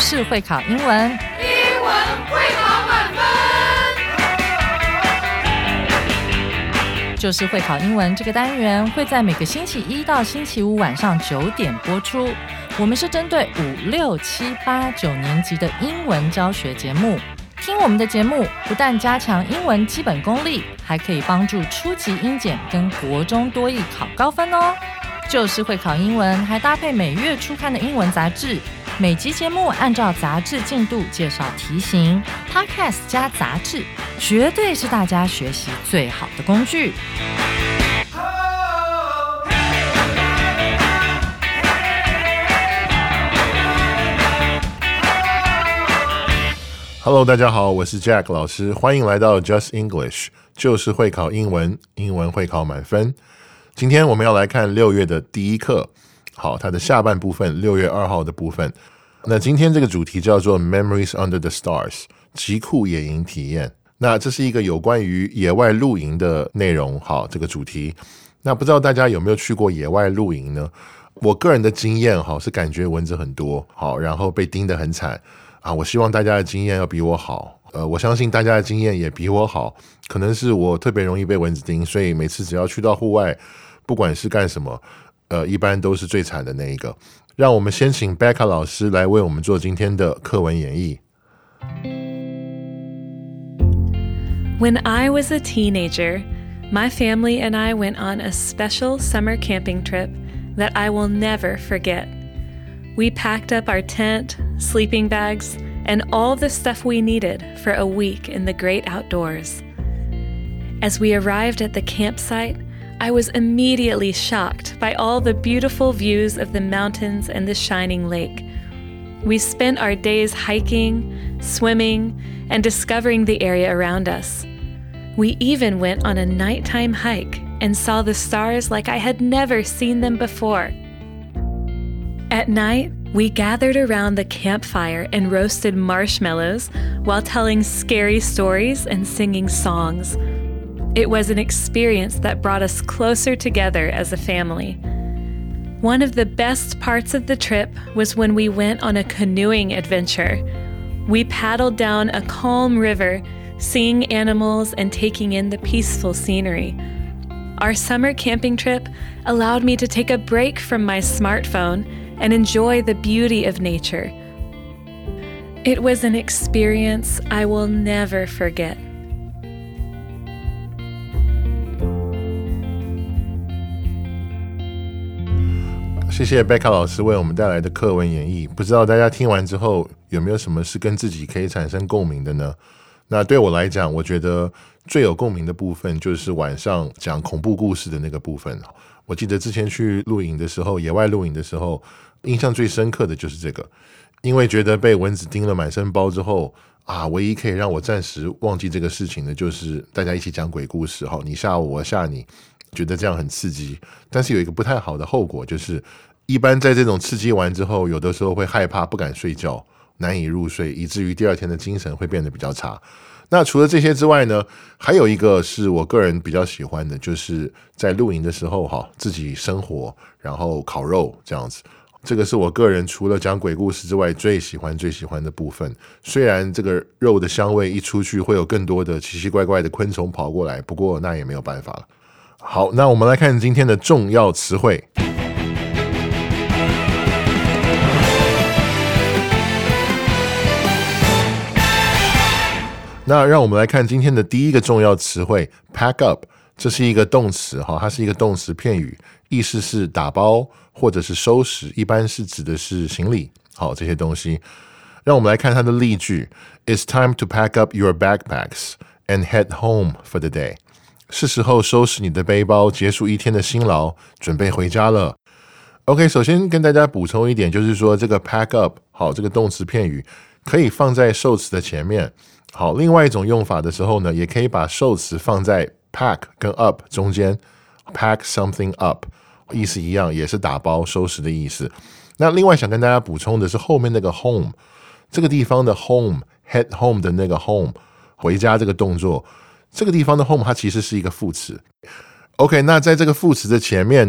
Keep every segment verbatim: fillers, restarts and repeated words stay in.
就是会考英文， 英文会考满分。 就是会考英文这个单元会在每个星期一到星期五晚上九点播出。我们是针对五六七八九年级的英文教学节目。听我们的节目不但加强英文基本功力，还可以帮助初级英检跟国中多益考高分哦。就是会考英文还搭配每月初刊的英文杂志，每集节目按照杂志进度介绍题型， Podcast 加杂志绝对是大家学习最好的工具。 Hello， 大家好，我是 Jack 老师，欢迎来到 Just English， 就是会考英文，英文会考满分。今天我们要来看六月的第一课，好，它的下半部分，六月二号的部分。那今天这个主题叫做 Memories Under the Stars， 极酷野营体验。那这是一个有关于野外露营的内容，好，这个主题。那不知道大家有没有去过野外露营呢？我个人的经验，好，是感觉蚊子很多，好，然后被叮得很惨。啊，我希望大家的经验要比我好，呃，我相信大家的经验也比我好，可能是我特别容易被蚊子叮，所以每次只要去到户外，不管是干什么，呃，一般都是最惨的那一个。让我们先请 Becca 老师来为我们做今天的课文演绎。 When I was a teenager, my family and I went on a special summer camping trip that I will never forget.We packed up our tent, sleeping bags, and all the stuff we needed for a week in the great outdoors. As we arrived at the campsite, I was immediately shocked by all the beautiful views of the mountains and the shining lake. We spent our days hiking, swimming, and discovering the area around us. We even went on a nighttime hike and saw the stars like I had never seen them before.At night, we gathered around the campfire and roasted marshmallows while telling scary stories and singing songs. It was an experience that brought us closer together as a family. One of the best parts of the trip was when we went on a canoeing adventure. We paddled down a calm river, seeing animals and taking in the peaceful scenery.Our summer camping trip allowed me to take a break from my smartphone and enjoy the beauty of nature. It was an experience I will never forget. 谢谢 Becca 老师为我们带来的课文演绎。不知道大家听完之后有没有什么是跟自己可以产生共鸣的呢？那对我来讲，我觉得最有共鸣的部分就是晚上讲恐怖故事的那个部分。我记得之前去露营的时候，野外露营的时候，印象最深刻的就是这个，因为觉得被蚊子叮了满身包之后啊，唯一可以让我暂时忘记这个事情的就是大家一起讲鬼故事，你吓我我吓你，觉得这样很刺激。但是有一个不太好的后果，就是一般在这种刺激完之后，有的时候会害怕不敢睡觉，难以入睡，以至于第二天的精神会变得比较差。那除了这些之外呢，还有一个是我个人比较喜欢的，就是在露营的时候哈，自己生火，然后烤肉这样子。这个是我个人除了讲鬼故事之外最喜欢最喜欢的部分。虽然这个肉的香味一出去会有更多的奇奇怪怪的昆虫跑过来，不过那也没有办法了。好，那我们来看今天的重要词汇。那让我们来看今天的第一个重要词汇 pack up， 这是一个动词，它是一个动词片语，意思是打包或者是收拾，一般是指的是行李，好，这些东西。让我们来看它的例句 It's time to pack up your backpacks and head home for the day。 是时候收拾你的背包，结束一天的辛劳，准备回家了。 OK， 首先跟大家补充一点，就是说这个 pack up， 好，这个动词片语可以放在受词的前面。好，另外一种用法的时候呢，也可以把受词放在 pack 跟 up 中间 pack something up， 意思一样，也是打包收拾的意思。那另外想跟大家补充的是后面那个 home， 这个地方的 home head home 的那个 home 回家这个动作，这个地方的 home 它其实是一个副词。OK， 那在这个副词的前面呢，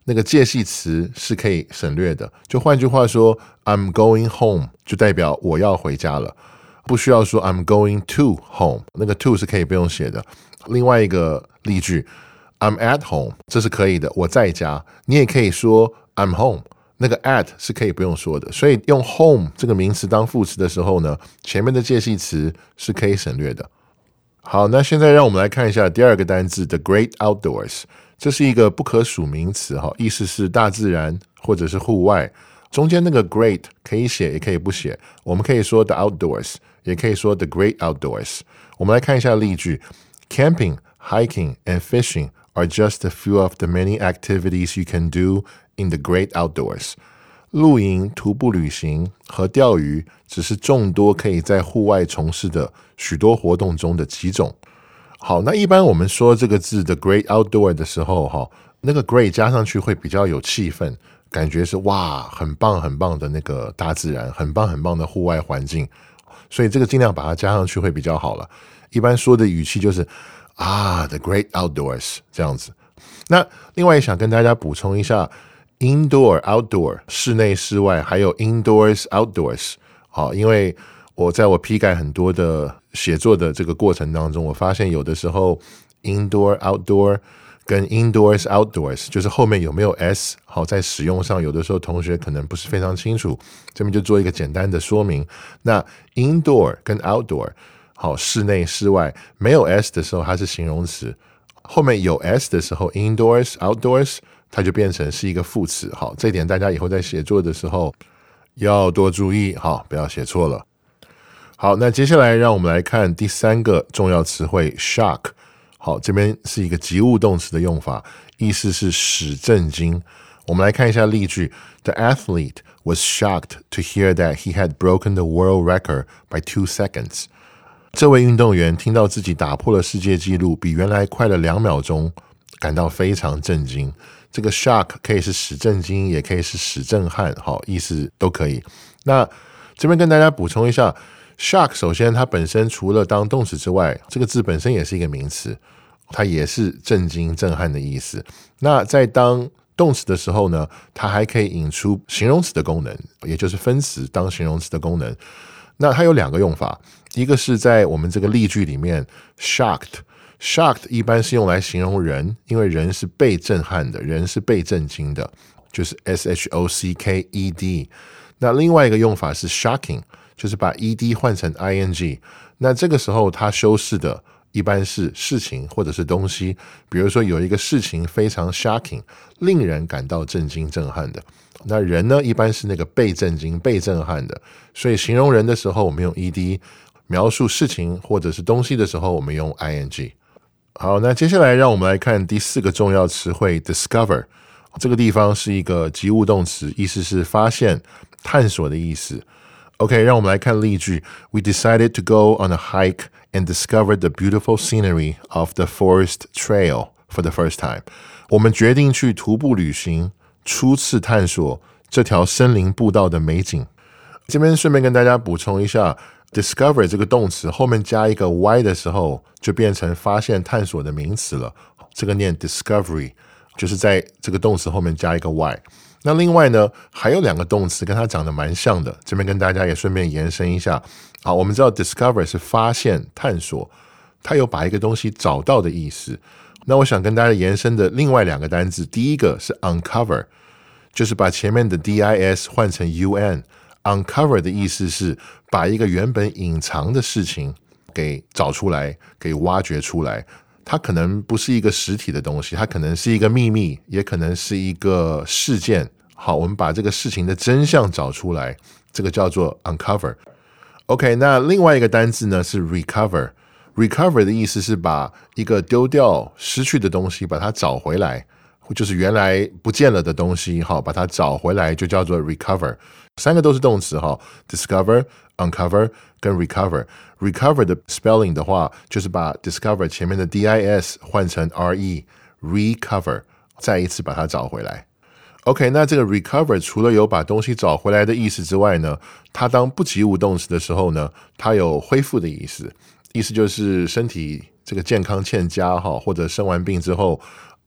那个介系词是可以省略的。就换句话说 I'm going home 就代表我要回家了，不需要说 I'm going to home， 那个 to 是可以不用写的。另外一个例句 I'm at home 这是可以的，我在家。你也可以说 I'm home， 那个 at 是可以不用说的。所以用 home 这个名词当副词的时候呢，前面的介系词是可以省略的。好，那现在让我们来看一下第二个单字 The Great Outdoors， 这是一个不可数名词，意思是大自然或者是户外。中间那个 great 可以写也可以不写，我们可以说 The Outdoors， 也可以说 The Great Outdoors。我们来看一下例句 Camping, hiking, and fishing are just a few of the many activities you can do in the great outdoors。露营、徒步旅行和钓鱼只是众多可以在户外从事的许多活动中的几种。好，那一般我们说这个字 The Great Outdoor 的时候，那个 Great 加上去会比较有气氛，感觉是哇，很棒很棒的那个大自然，很棒很棒的户外环境，所以这个尽量把它加上去会比较好了。一般说的语气就是啊 The Great Outdoors 这样子。那另外也想跟大家补充一下Indoor, outdoor 室内室外，还有 indoors, outdoors。 好，因为我在我批改很多的写作的这个过程当中，我发现有的时候 indoor, outdoor 跟 indoors, outdoors 就是后面有没有 s， 好，在使用上有的时候同学可能不是非常清楚，这边就做一个简单的说明。那 indoor 跟 outdoor 好，室内室外没有 s 的时候它是形容词，后面有 s 的时候 indoors, outdoors它就变成是一个副词。好，这一点大家以后在写作的时候要多注意，好，不要写错了。好，那接下来让我们来看第三个重要词汇 shock。 好，这边是一个及物动词的用法，意思是使震惊。我们来看一下例句 The athlete was shocked to hear that he had broken the world record by two seconds。 这位运动员听到自己打破了世界纪录，比原来快了两秒钟，感到非常震惊。这个 shock 可以是使震惊，也可以是使震撼，好，意思都可以。那这边跟大家补充一下 shock 首先它本身除了当动词之外，这个字本身也是一个名词，它也是震惊震撼的意思。那在当动词的时候呢，它还可以引出形容词的功能，也就是分词当形容词的功能。那它有两个用法，一个是在我们这个例句里面 shocked Shocked 一般是用来形容人，因为人是被震撼的，人是被震惊的，就是 S H O C K E D。 那另外一个用法是 shocking， 就是把 E D 换成 I N G。 那这个时候它修饰的一般是事情或者是东西，比如说有一个事情非常 shocking， 令人感到震惊震撼的。那人呢，一般是那个被震惊被震撼的，所以形容人的时候我们用 E D， 描述事情或者是东西的时候我们用 I N G。好，那接下来让我们来看第四个重要词汇 discover。 这个地方是一个及物动词，意思是发现探索的意思。 OK， 让我们来看例句 We decided to go on a hike and discover the beautiful scenery of the forest trail for the first time。 我们决定去徒步旅行，初次探索这条森林步道的美景。这边顺便跟大家补充一下Discover 这个动词后面加一个 y 的时候，就变成发现探索的名词了。这个念 discovery， 就是在这个动词后面加一个 y。 那另外呢，还有两个动词跟它长得蛮像的，这边跟大家也顺便延伸一下。好，我们知道 discover 是发现探索，它有把一个东西找到的意思。那我想跟大家延伸的另外两个单字，第一个是 uncover， 就是把前面的 dis 换成 un。Uncover 的意思是把一个原本隐藏的事情给找出来，给挖掘出来。它可能不是一个实体的东西，它可能是一个秘密，也可能是一个事件。好，我们把这个事情的真相找出来，这个叫做 uncover。 OK， 那另外一个单字呢是 recover。 Recover 的意思是把一个丢掉失去的东西把它找回来，就是原来不见了的东西，好，把它找回来就叫做 recover。三个都是动词， discover、uncover 跟 recover。recover 的 spelling 的话，就是把 discover 前面的 dis 换成 re recover， 再一次把它找回来。 OK， 那这个 recover 除了有把东西找回来的意思之外呢，它当不及物动词的时候呢，它有恢复的意思，意思就是身体这个健康欠佳，或者生完病之后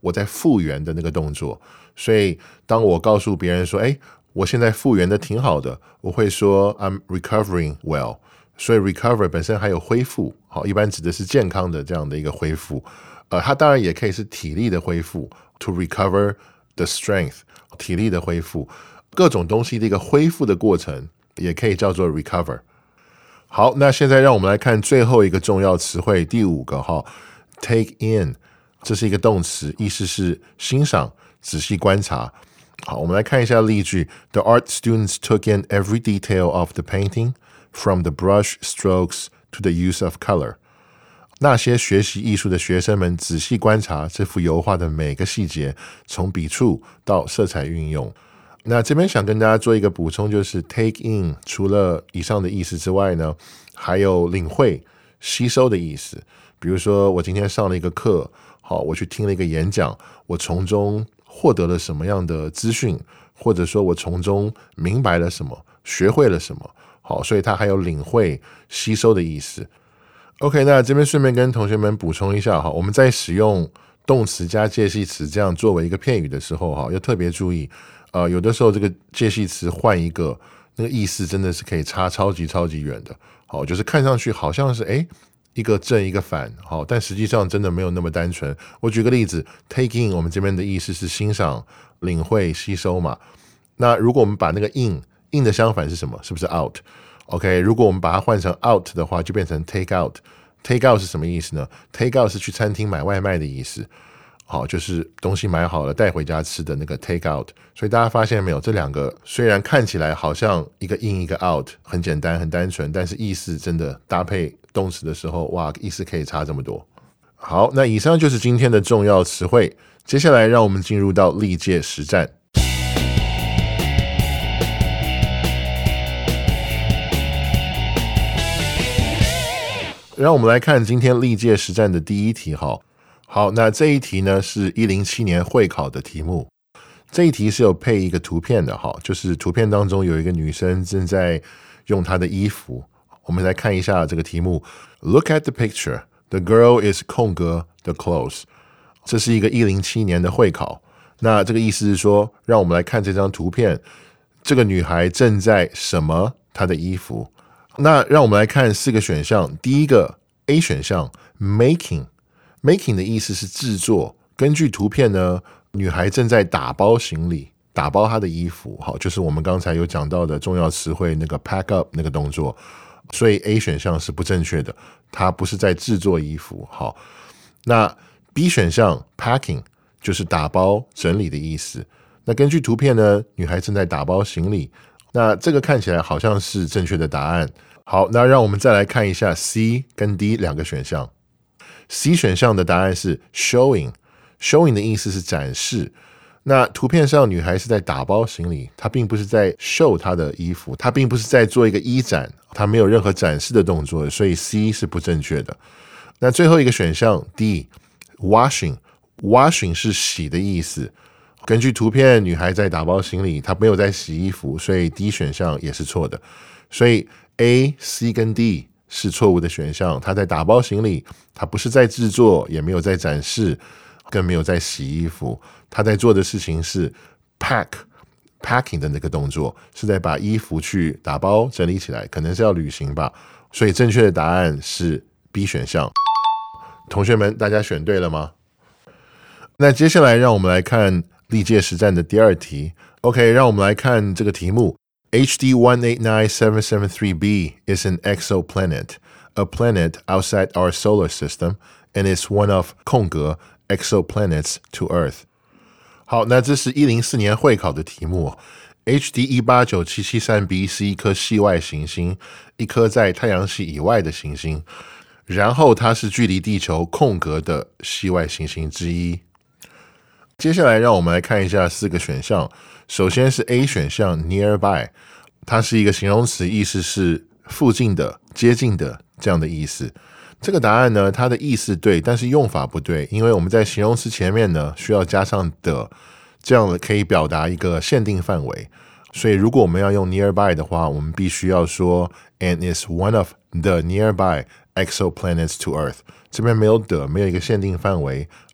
我在复原的那个动作。所以当我告诉别人说，哎，我现在复原的挺好的，我会说 I'm recovering well。所以 recover 本身还有恢复，好，一般指的是健康的这样的一个恢复。呃，它当然也可以是体力的恢复 ，to recover the strength， 体力的恢复，各种东西的一个恢复的过程，也可以叫做 recover。好，那现在让我们来看最后一个重要词汇，第五个哈 ，take in， 这是一个动词，意思是欣赏、仔细观察。好，我们来看一下例句 ：The art students took in every detail of the painting。From the brush strokes to the use of color， 那些学习艺术的学生们仔细观察这幅油画的每个细节，从笔触到色彩运用。那这边想跟大家做一个补充，就是 take in 除了以上的意思之外呢，还有领会、吸收的意思。比如说，我今天上了一个课，好，我去听了一个演讲，我从中获得了什么样的资讯，或者说我从中明白了什么，学会了什么。好，所以它还有领会、吸收的意思。OK， 那这边顺便跟同学们补充一下哈，我们在使用动词加介系词这样作为一个片语的时候哈，要特别注意，呃，有的时候这个介系词换一个，那个意思真的是可以差超级超级远的。好，就是看上去好像是哎一个正一个反，好，但实际上真的没有那么单纯。我举个例子 ，take in 我们这边的意思是欣赏、领会、吸收嘛。那如果我们把那个 in，in 的相反是什么？是不是 out？OK， 如果我们把它换成 out 的话，就变成 take out。take out 是什么意思呢？ take out 是去餐厅买外卖的意思。好，就是东西买好了带回家吃的那个 take out。所以大家发现没有，这两个虽然看起来好像一个 in 一个 out， 很简单很单纯，但是意思真的搭配动词的时候，哇，意思可以差这么多。好，那以上就是今天的重要词汇。接下来让我们进入到历届实战。让我们来看今天历届实战的第一题哈。好，那这一题呢是一零七年会考的题目。这一题是有配一个图片的哈，就是图片当中有一个女生正在用她的衣服。我们来看一下这个题目 ：Look at the picture. The girl is 空格 the clothes。这是一个一零七年的会考。那这个意思是说，让我们来看这张图片，这个女孩正在什么她的衣服？那让我们来看四个选项。第一个 A 选项 making， making 的意思是制作。根据图片呢，女孩正在打包行李，打包她的衣服。好，就是我们刚才有讲到的重要词汇那个 pack up 那个动作。所以 A 选项是不正确的，她不是在制作衣服。好，那 B 选项 packing 就是打包整理的意思。那根据图片呢，女孩正在打包行李。那这个看起来好像是正确的答案。好，那让我们再来看一下 C 跟 D 两个选项。C 选项的答案是 showing， showing 的意思是展示。那图片上女孩是在打包行李，她并不是在 show 她的衣服，她并不是在做一个衣展，她没有任何展示的动作，所以 C 是不正确的。那最后一个选项 D washing， washing 是洗的意思。根据图片，女孩在打包行李，她没有在洗衣服，所以 D 选项也是错的。所以 A、C 跟 D 是错误的选项。她在打包行李，她不是在制作，也没有在展示，更没有在洗衣服。她在做的事情是 pack packing 的那个动作，是在把衣服去打包整理起来，可能是要旅行吧。所以正确的答案是 B 选项。同学们，大家选对了吗？那接下来让我们来看历届实战的第二题。 OK， 让我们来看这个题目。 H D one eight nine seven seven three b is an exoplanet, a planet outside our solar system, and is one of 空格 exoplanets to Earth。 好，那这是一零四年会考的题目。 H D one eight nine seven seven b 是一颗系外行星，一颗在太阳系以外的行星，然后它是距离地球空格的系外行星之一。接下来让我们来看一下四个选项。首先是 A 选项 nearby， 它是一个形容词，意思是附近的、接近的这样的意思。这个答案呢，它的意思对，但是用法不对，因为我们在形容词前面呢需要加上的，这样可以表达一个限定范围。所以如果我们要用 nearby 的话，我们必须要说 and is one of the nearby exoplanets to Earth。这边没有的，没有一个限定范围，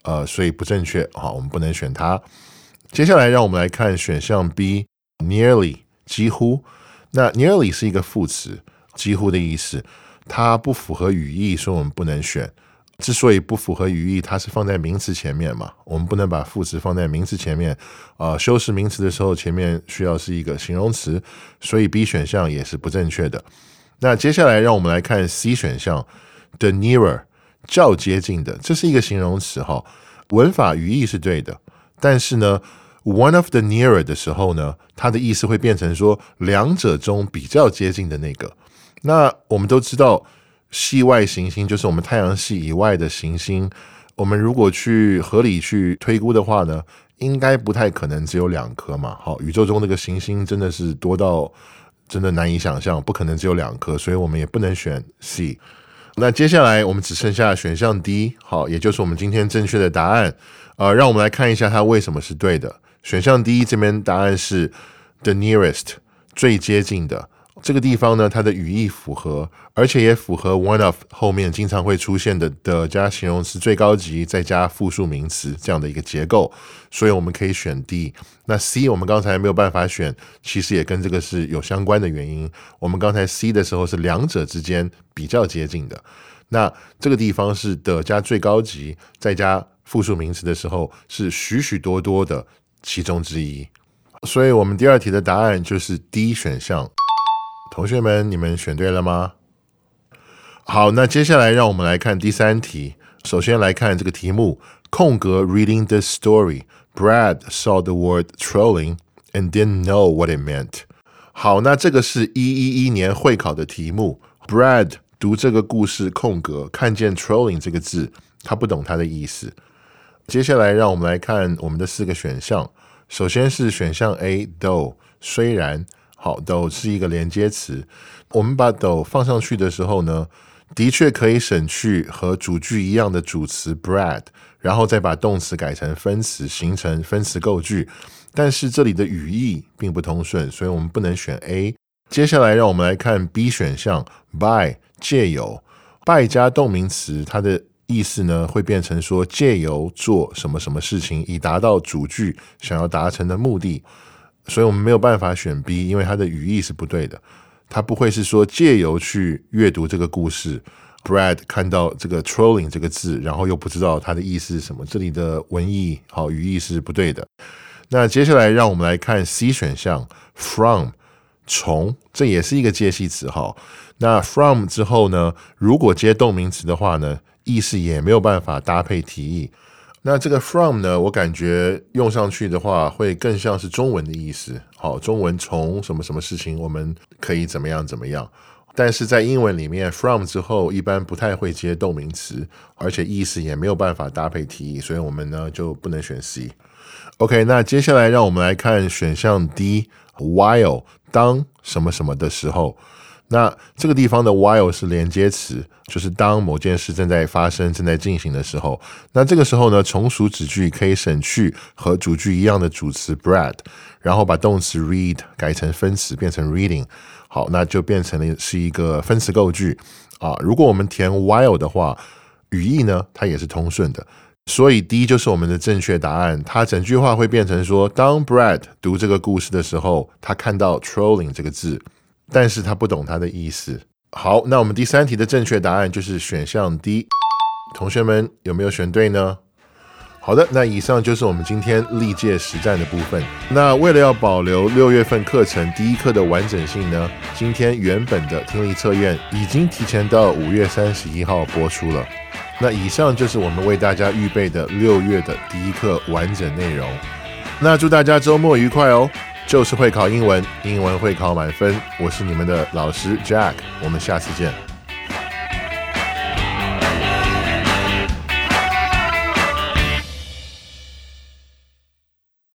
呃，所以不正确，好，我们不能选它。接下来让我们来看选项 B nearly 几乎。那 nearly 是一个副词，几乎的意思，它不符合语义，所以我们不能选。之所以不符合语义，它是放在名词前面嘛，我们不能把副词放在名词前面。呃，修饰名词的时候，前面需要是一个形容词，所以 B 选项也是不正确的。那接下来让我们来看 C 选项 the nearer 较接近的，这是一个形容词哈，文法语义是对的，但是呢 one of the nearer 的时候呢，它的意思会变成说两者中比较接近的那个。那我们都知道系外行星就是我们太阳系以外的行星，我们如果去合理去推估的话呢，应该不太可能只有两颗嘛。好，宇宙中那个行星真的是多到真的难以想象，不可能只有两颗，所以我们也不能选 C。 那接下来我们只剩下选项 D， 好，也就是我们今天正确的答案。呃，让我们来看一下它为什么是对的。选项 D 这边答案是 the nearest 最接近的。这个地方呢，它的语义符合，而且也符合 one of 后面经常会出现的的加形容词最高级再加复数名词这样的一个结构，所以我们可以选 D。 那 C 我们刚才没有办法选，其实也跟这个是有相关的原因。我们刚才 C 的时候是两者之间比较接近的，那这个地方是的加最高级再加复数名词的时候是许许多多的其中之一，所以我们第二题的答案就是 D 选项。同学们，你们选对了吗？好，那接下来让我们来看第三题。首先来看这个题目，空格 reading this story, Brad saw the word trolling and didn't know what it meant。 好，那这个是一一一年会考的题目。Brad 读这个故事空格，看见 trolling 这个字，他不懂它的意思。接下来让我们来看我们的四个选项。首先是选项 A though 虽然。好， though 是一个连接词，我们把 though 放上去的时候呢，的确可以省去和主句一样的主词 Brad， 然后再把动词改成分词，形成分词构句，但是这里的语义并不通顺，所以我们不能选 A。 接下来让我们来看 B 选项 by 借由， by 加动名词，它的意思呢会变成说借由做什么什么事情，以达到主句想要达成的目的，所以我们没有办法选 B， 因为它的语义是不对的。它不会是说借由去阅读这个故事 Brad 看到这个 trolling 这个字，然后又不知道它的意思是什么，这里的文意好语义是不对的。那接下来让我们来看 C 选项 from 从，这也是一个介系词。好，那 from 之后呢，如果接动名词的话呢，意思也没有办法搭配题意。那这个 from 呢，我感觉用上去的话会更像是中文的意思。好，中文从什么什么事情我们可以怎么样怎么样，但是在英文里面 from 之后一般不太会接动名词，而且意思也没有办法搭配题意，所以我们呢就不能选 C。 OK， 那接下来让我们来看选项 D while 当什么什么的时候。那这个地方的 while 是连接词，就是当某件事正在发生正在进行的时候。那这个时候呢，从属子句可以省去和主句一样的主词 Brad， 然后把动词 read 改成分词变成 reading。 好，那就变成了是一个分词构句啊。如果我们填 while 的话，语义呢它也是通顺的，所以 D 就是我们的正确答案。它整句话会变成说，当 Brad 读这个故事的时候，他看到 trolling 这个字，但是他不懂它的意思。好，那我们第三题的正确答案就是选项 D。 同学们有没有选对呢？好的，那以上就是我们今天历届实战的部分。那为了要保留六月份课程第一课的完整性呢，今天原本的听力测验已经提前到五月三十一号播出了。那以上就是我们为大家预备的六月的第一课完整内容。那祝大家周末愉快哦！就是会考英文，英文会考满分。我是你们的老师 Jack， 我们下次见。